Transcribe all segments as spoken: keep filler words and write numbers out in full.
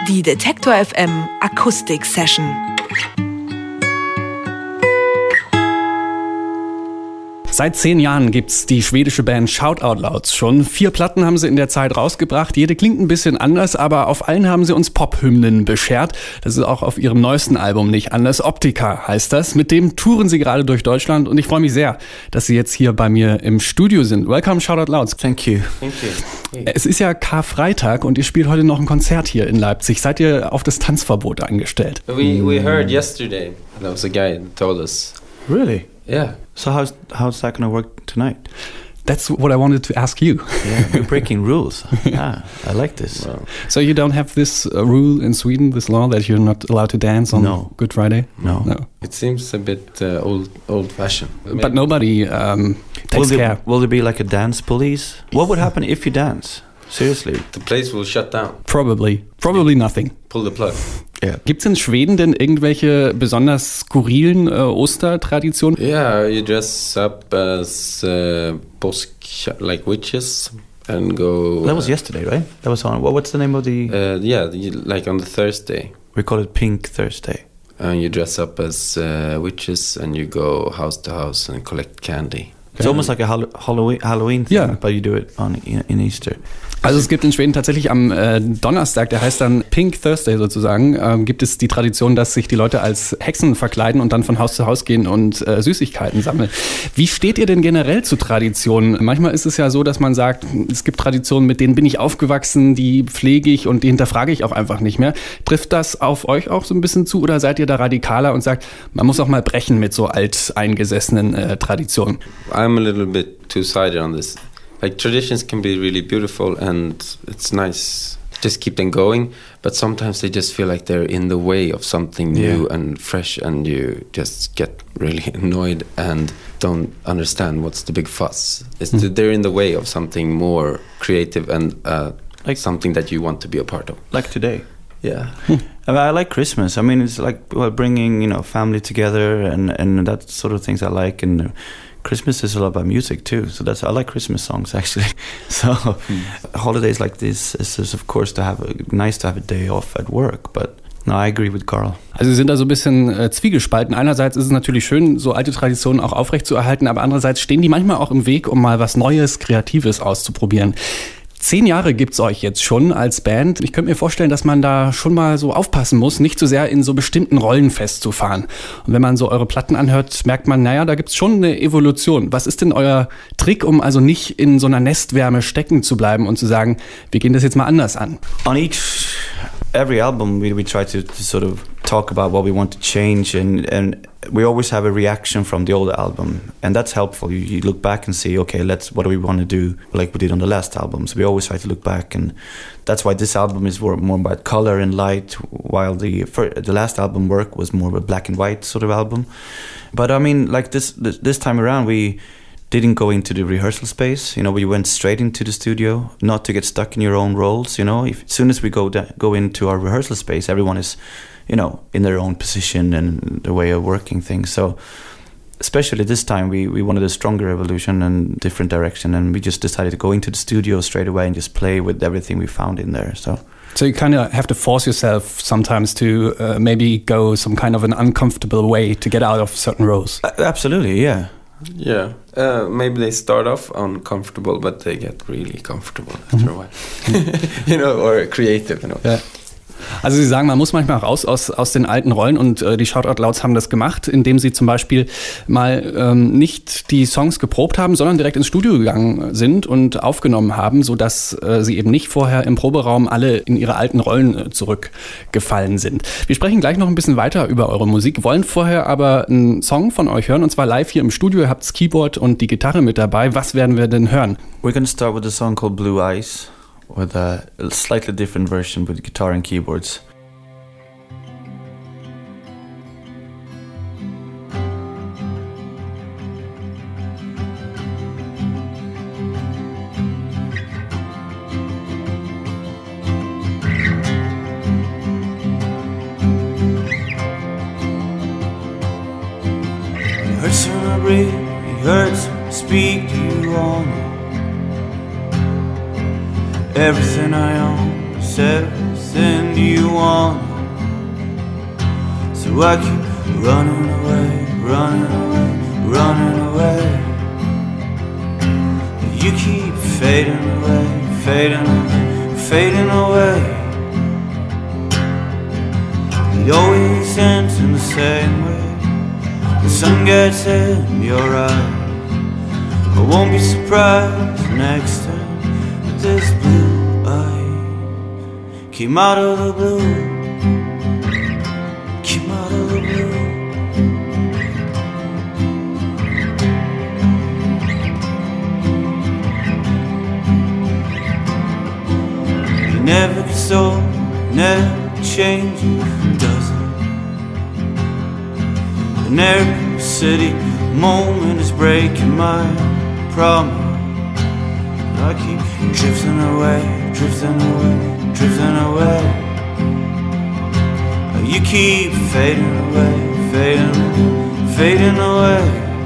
Die Detektor F M Akustik Session. Seit zehn Jahren gibt's die schwedische Band Shout Out Louds schon. Vier Platten haben sie in der Zeit rausgebracht. Jede klingt ein bisschen anders, aber auf allen haben sie uns Pop-Hymnen beschert. Das ist auch auf ihrem neuesten Album nicht anders. Optica heißt das. Mit dem touren sie gerade durch Deutschland und ich freue mich sehr, dass sie jetzt hier bei mir im Studio sind. Welcome, Shout Out Louds. Thank you. Thank you. Hey. Es ist ja Karfreitag und ihr spielt heute noch ein Konzert hier in Leipzig. Seid ihr auf das Tanzverbot eingestellt? We we heard yesterday. There was a guy who told us. Really? Yeah. So how's how's that going to work tonight? That's what I wanted to ask you. Yeah, we're breaking rules. Yeah, I like this. Well, So you don't have this uh, rule in Sweden, this law that you're not allowed to dance on No. Good Friday? No. No. it seems a bit uh, old old fashioned. But nobody um, Will takes there, care. will there be like a dance police? What would happen if you dance? Seriously? The place will shut down. Probably. Probably nothing. Pull the plug. Yeah. Gibt's in Schweden denn irgendwelche besonders skurrilen äh, Ostertraditionen? Yeah, you dress up as uh, påsk, like witches, and go. That was yesterday, right? That was on. What, what's the name of the? Uh, yeah, you, like on the Thursday, We call it Pink Thursday. and you dress up as uh, witches, and you go house to house and collect candy. It's almost like a Hall- Halloween Halloween thing, Yeah. but you do it on in, in Easter. Also es gibt in Schweden tatsächlich am äh, Donnerstag, der heißt dann Pink Thursday sozusagen, ähm, gibt es die Tradition, dass sich die Leute als Hexen verkleiden und dann von Haus zu Haus gehen und äh, Süßigkeiten sammeln. Wie steht ihr denn generell zu Traditionen? Manchmal ist es ja so, dass man sagt, es gibt Traditionen, mit denen bin ich aufgewachsen, die pflege ich und die hinterfrage ich auch einfach nicht mehr. Trifft das auf euch auch so ein bisschen zu oder seid ihr da radikaler und sagt, man muss auch mal brechen mit so alteingesessenen äh, Traditionen? I'm a little bit two-sided on this. Like traditions can be really beautiful and it's nice. Just keep them going, but sometimes they just feel like they're in the way of something new Yeah. and fresh, and you just get really annoyed and don't understand what's the big fuss. It's Mm. they're in the way of something more creative and uh, Like- something that you want to be a part of. Like today. Yeah. I, mean, I like Christmas. I mean, it's like well, bringing you know family together and and that sort of things I like. And uh, Christmas is a lot about music too. So that's I like Christmas songs actually. So holidays like this is, is of course to have a, nice to have a day off at work. But no, I agree with Carl. Also Sie sind da so ein bisschen äh, zwiegespalten. Einerseits ist es natürlich schön, so alte Traditionen auch aufrechtzuerhalten, aber andererseits stehen die manchmal auch im Weg, um mal was Neues, Kreatives auszuprobieren. Zehn Jahre gibt's euch jetzt schon als Band. Ich könnte mir vorstellen, dass man da schon mal so aufpassen muss, nicht zu sehr in so bestimmten Rollen festzufahren. Und wenn man so eure Platten anhört, merkt man, naja, da gibt's schon eine Evolution. Was ist denn euer Trick, um also nicht in so einer Nestwärme stecken zu bleiben und zu sagen, wir gehen das jetzt mal anders an? On each every album we, we try to, to sort of talk about what we want to change, and and we always have a reaction from the old album, and that's helpful. You, you look back and see, okay, let's what do we want to do, like we did on the last album. So we always try to look back, and that's why this album is more, more about color and light, while the for, the last album work was more of a black and white sort of album. But I mean, like this this, this time around we didn't go into the rehearsal space. You know, we went straight into the studio, not to get stuck in your own roles. You know, if, as soon as we go da- go into our rehearsal space, everyone is, you know, in their own position and their way of working things. So, especially this time, we, we wanted a stronger evolution and different direction, and we just decided to go into the studio straight away and just play with everything we found in there. So. So you kind of have to force yourself sometimes to uh, maybe go some kind of an uncomfortable way to get out of certain roles. Uh, absolutely, yeah. Yeah. Uh, maybe they start off uncomfortable, but they get really comfortable after a while. You know, or creative, you know. Ja. Also Sie sagen, man muss manchmal raus aus, aus den alten Rollen und äh, die Shout Out Louds haben das gemacht, indem sie zum Beispiel mal ähm, nicht die Songs geprobt haben, sondern direkt ins Studio gegangen sind und aufgenommen haben, sodass äh, sie eben nicht vorher im Proberaum alle in ihre alten Rollen äh, zurückgefallen sind. Wir sprechen gleich noch ein bisschen weiter über eure Musik, wollen vorher aber einen Song von euch hören und zwar live hier im Studio. Ihr habt das Keyboard und die Gitarre mit dabei. Was werden wir denn hören? We're going to start with a song called Blue Eyes, with a slightly different version with guitar and keyboards. It hurts when I breathe, it hurts when I speak to you all night. Everything I own is everything you So I keep running away, running away, running away. You keep fading away, fading away, fading away. It always ends in the same way. The sun gets in your eyes. I won't be surprised next time that this blue eye came out of the blue, came out of the blue. You never gets old, never changes, does it? And every city moment is breaking my promise. I keep drifting away, drifting away, drifting away. You keep fading away, fading away, fading away.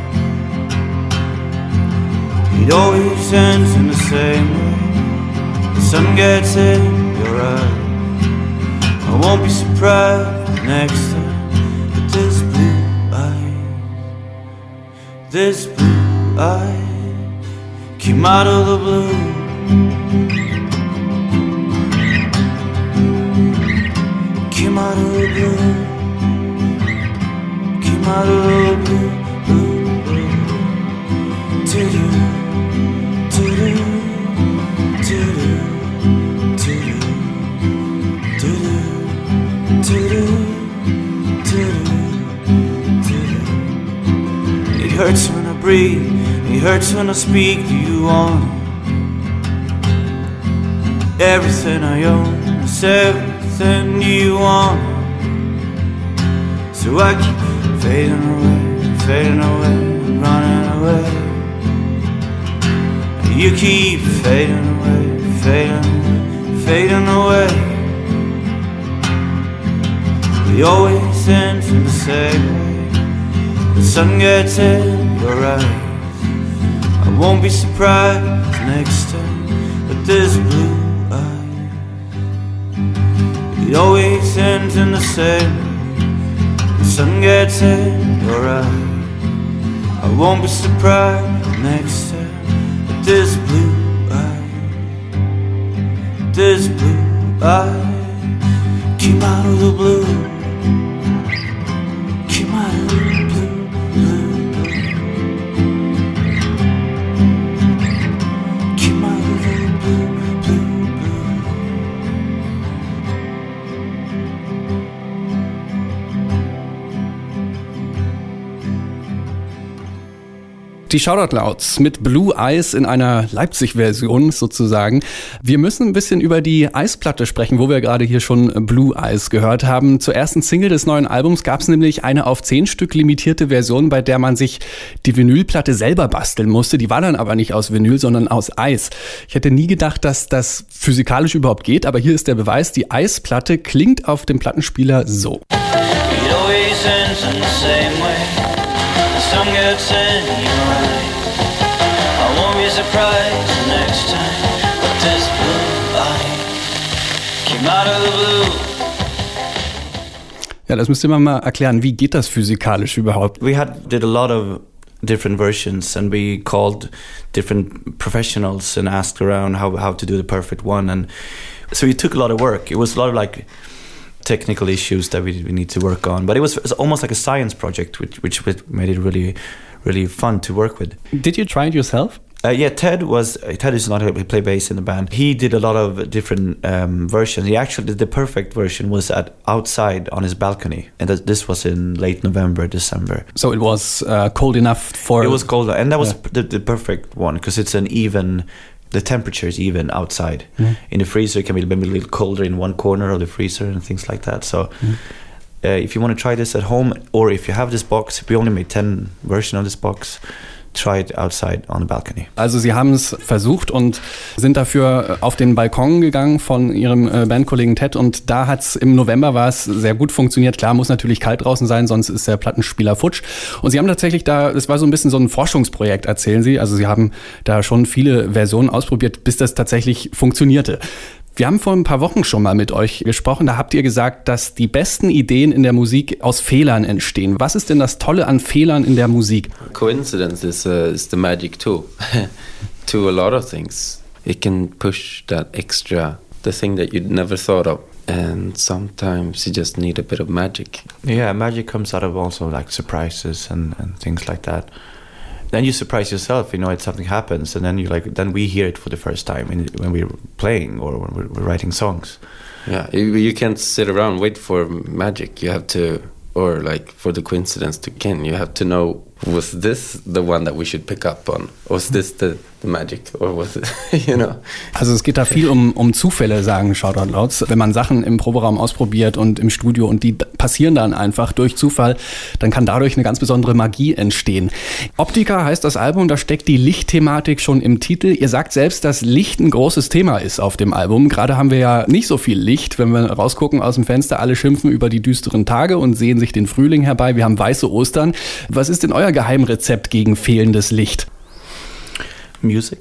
It always ends in the same way. The sun gets in your eyes. I won't be surprised next time that this blue eye, this blue eye came out of the blue. Came out of the blue. Came out of the blue, blue, blue. Do-do, do-do, do-do, do-do, do-do, do-do, do-do, do-do. It hurts when I breathe. It hurts when I speak. Do you want it? Everything I own is everything. Do you want it? So I keep fading away, fading away, running away. You keep fading away, fading away, fading away. It always ends in the same way. The sun gets in your eyes. I won't be surprised next time with this blue eye. It always ends in the same way. The sun gets in your eye. I won't be surprised next time with this blue eye. This blue eye came out of the blue. Came out of the blue, blue. Die Shoutout Louds mit Blue Eyes in einer Leipzig-Version sozusagen. Wir müssen ein bisschen über die Eisplatte sprechen, wo wir gerade hier schon Blue Eyes gehört haben. Zur ersten Single des neuen Albums gab es nämlich eine auf zehn Stück limitierte Version, bei der man sich die Vinylplatte selber basteln musste. Die war dann aber nicht aus Vinyl, sondern aus Eis. Ich hätte nie gedacht, dass das physikalisch überhaupt geht, aber hier ist der Beweis. Die Eisplatte klingt auf dem Plattenspieler so. Sun gets in your eyes. I won't be surprised next time with this blue eye came out of the blue. Ja, das müsst ihr mal erklären. Wie geht das physikalisch überhaupt? We had did a lot of different versions and we called different professionals and asked around how how to do the perfect one, and so it took a lot of work. It was a lot of like technical issues that we, we need to work on, but it was, it was almost like a science project, which which made it really, really fun to work with. Did you try it yourself? Uh, yeah, Ted was Ted is not he play bass in the band. He did a lot of different um, versions. He actually did the perfect version was at outside on his balcony, and that, this was in late November, December. So it was uh, cold enough for. It was cold, and that was yeah. the, the perfect one because it's an even. The temperature is even outside. Mm. In the freezer, it can be maybe a little colder in one corner of the freezer and things like that. So, mm. uh, if you want to try this at home, or if you have this box, we only made ten versions of this box. Try it outside on the balcony. Also Sie haben es versucht und sind dafür auf den Balkon gegangen von Ihrem Bandkollegen Ted, und da hat es im November war es sehr gut funktioniert. Klar, muss natürlich kalt draußen sein, sonst ist der Plattenspieler futsch. Und Sie haben tatsächlich da, das war so ein bisschen so ein Forschungsprojekt, erzählen Sie. Also Sie haben da schon viele Versionen ausprobiert, bis das tatsächlich funktionierte. Wir haben vor ein paar Wochen schon mal mit euch gesprochen. Da habt ihr gesagt, dass die besten Ideen in der Musik aus Fehlern entstehen. Was ist denn das Tolle an Fehlern in der Musik? Coincidence is, uh, is the magic too. To a lot of things. It can push that extra, the thing that you'd never thought of. And sometimes you just need a bit of magic. Yeah, magic comes out of also like surprises and, and things like that. Then you surprise yourself, you know, if something happens, and then you like, then we hear it for the first time in, when we're playing or when we're, we're writing songs. Yeah, you, you can't sit around wait for magic. You have to, or like for the coincidence to begin. You have to know, was this the one that we should pick up on? Was this the, the magic? Or was it, you know? Also es geht da viel um, um Zufälle, sagen Shoutout Louds. Wenn man Sachen im Proberaum ausprobiert und im Studio und die passieren dann einfach durch Zufall, dann kann dadurch eine ganz besondere Magie entstehen. Optica heißt das Album, da steckt die Lichtthematik schon im Titel. Ihr sagt selbst, dass Licht ein großes Thema ist auf dem Album. Gerade haben wir ja nicht so viel Licht, wenn wir rausgucken aus dem Fenster. Alle schimpfen über die düsteren Tage und sehen sich den Frühling herbei. Wir haben weiße Ostern. Was ist denn euer Geheimrezept gegen fehlendes Licht? Music.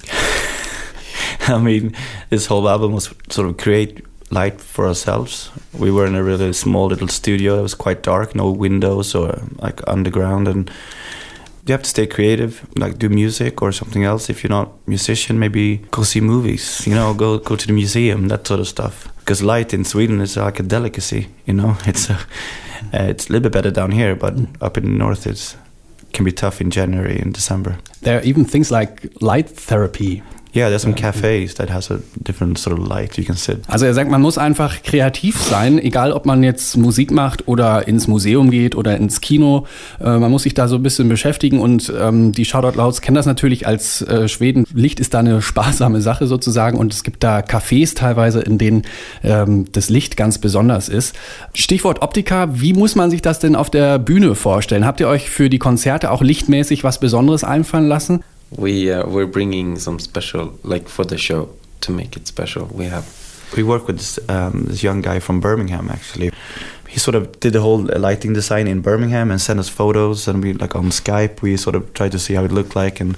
I mean, this whole album was sort of create light for ourselves. We were in a really small little studio. It was quite dark, no windows or like underground, and you have to stay creative, like do music or something else. If you're not a musician, maybe go see movies, you know, go go to the museum, that sort of stuff. Because light in Sweden is like a delicacy, you know. It's a, uh, it's a little bit better down here, but up in the north it's can be tough in January and December. There are even things like light therapy. Yeah, there's some cafes that has a different sort of light you can sit. Also er sagt, man muss einfach kreativ sein, egal ob man jetzt Musik macht oder ins Museum geht oder ins Kino. Äh, man muss sich da so ein bisschen beschäftigen und ähm, die Shoutout Louds kennen das natürlich als äh, Schweden. Licht ist da eine sparsame Sache sozusagen und es gibt da Cafés teilweise, in denen ähm, das Licht ganz besonders ist. Stichwort Optica, wie muss man sich das denn auf der Bühne vorstellen? Habt ihr euch für die Konzerte auch lichtmäßig was Besonderes einfallen lassen? We uh, we're bringing some special, like for the show, to make it special. We have. We work with this, um, this young guy from Birmingham. Actually, he sort of did the whole lighting design in Birmingham and sent us photos. And we like on Skype, we sort of tried to see how it looked like, and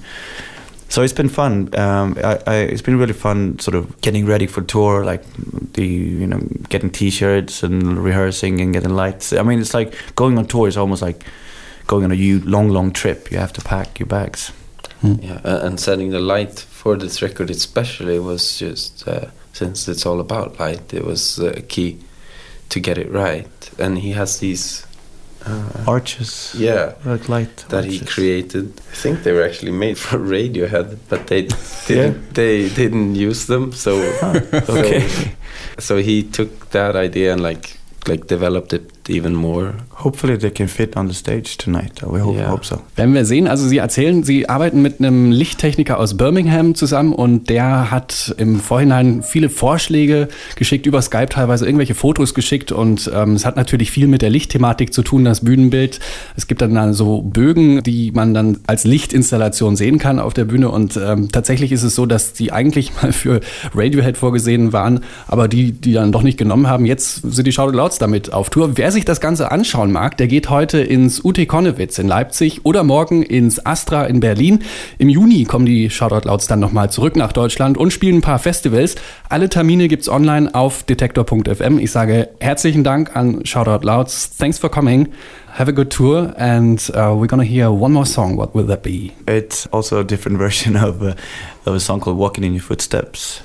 so it's been fun. Um, I, I, it's been really fun, sort of getting ready for tour, like the you know getting T-shirts and rehearsing and getting lights. I mean, it's like going on tour is almost like going on a long, long trip. You have to pack your bags. Yeah, uh, and setting the light for this record especially was just, uh, since it's all about light, it was uh, key to get it right. And he has these... Uh, arches. Yeah. Like light That arches. he created. I think they were actually made for Radiohead, but they didn't, Yeah. they didn't use them, so... Okay. So, so he took that idea and like like developed it even more. Hopefully they can fit on the stage tonight. We hope, Yeah. hope so. Werden wir sehen. Also Sie erzählen, Sie arbeiten mit einem Lichttechniker aus Birmingham zusammen und der hat im Vorhinein viele Vorschläge geschickt, über Skype teilweise irgendwelche Fotos geschickt und ähm, es hat natürlich viel mit der Lichtthematik zu tun, das Bühnenbild. Es gibt dann, dann so Bögen, die man dann als Lichtinstallation sehen kann auf der Bühne und ähm, tatsächlich ist es so, dass die eigentlich mal für Radiohead vorgesehen waren, aber die, die dann doch nicht genommen haben. Jetzt sind die Shoutout Louds damit auf Tour. Wer sich das Ganze anschauen mag, der geht heute ins U T Konnewitz in Leipzig oder morgen ins Astra in Berlin. Im Juni kommen die Shoutout Louds dann nochmal zurück nach Deutschland und spielen ein paar Festivals. Alle Termine gibt's online auf detektor punkt f m. Ich sage herzlichen Dank an Shoutout Louds. Thanks for coming. Have a good tour and uh, we're gonna hear one more song. What will that be? It's also a different version of a, of a song called Walking in Your Footsteps.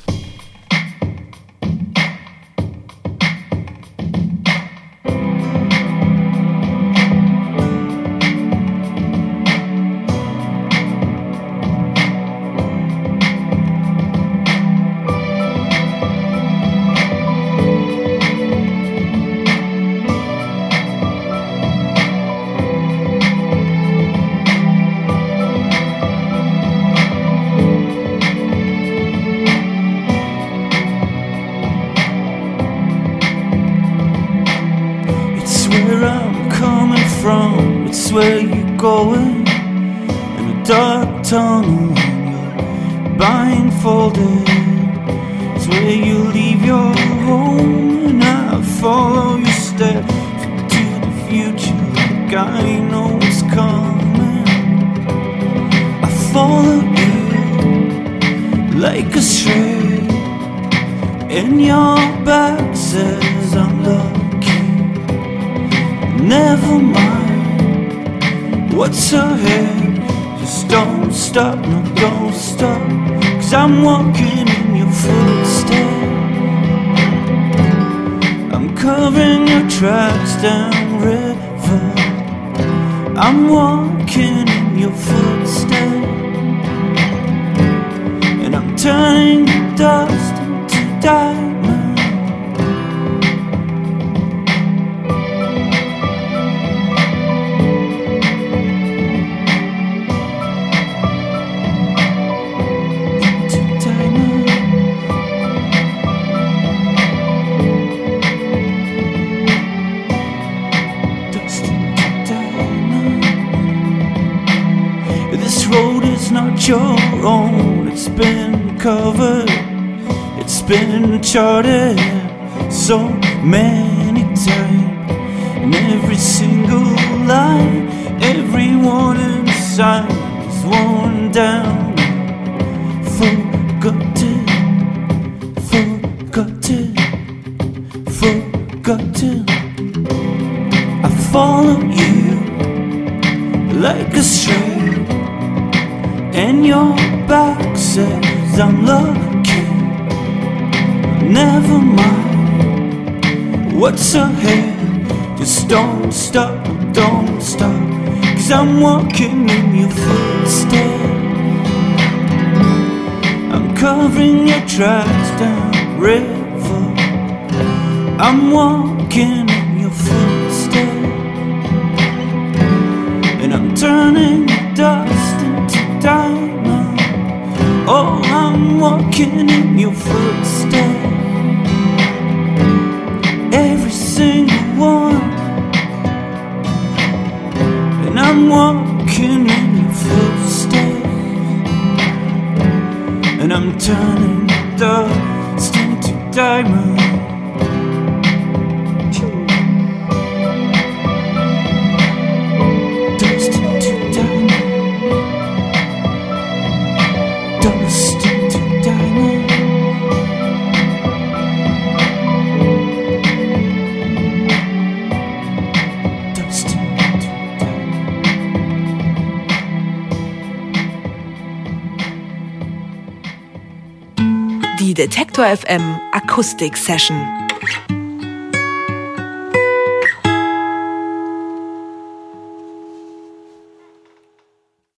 Where I'm coming from, it's where you're going. In a dark tunnel when you're blindfolded, it's where you leave your home. And I follow your steps to the future like I know what's coming. I follow you like a stray in and your back says I'm lucky. Never mind what's ahead, just don't stop, no don't stop, 'cause I'm walking in your footsteps. I'm covering your tracks down river, I'm walking in your footsteps, and I'm turning the dust into diamonds. Not your own, it's been covered, it's been charted so many times, and every single line, every warning sign is worn down, forgotten, forgotten, forgotten. I follow you like a stray, and your back says I'm lucky. Never mind what's ahead, just don't stop, don't stop, 'cause I'm walking in your footsteps. I'm covering your tracks down river, I'm walking in your footsteps, and I'm turning the dust into diamond. Oh, I'm walking in your footsteps, every single one, and I'm walking in your footsteps, and I'm turning the dust into diamond. Die Detektor F M Akustik Session.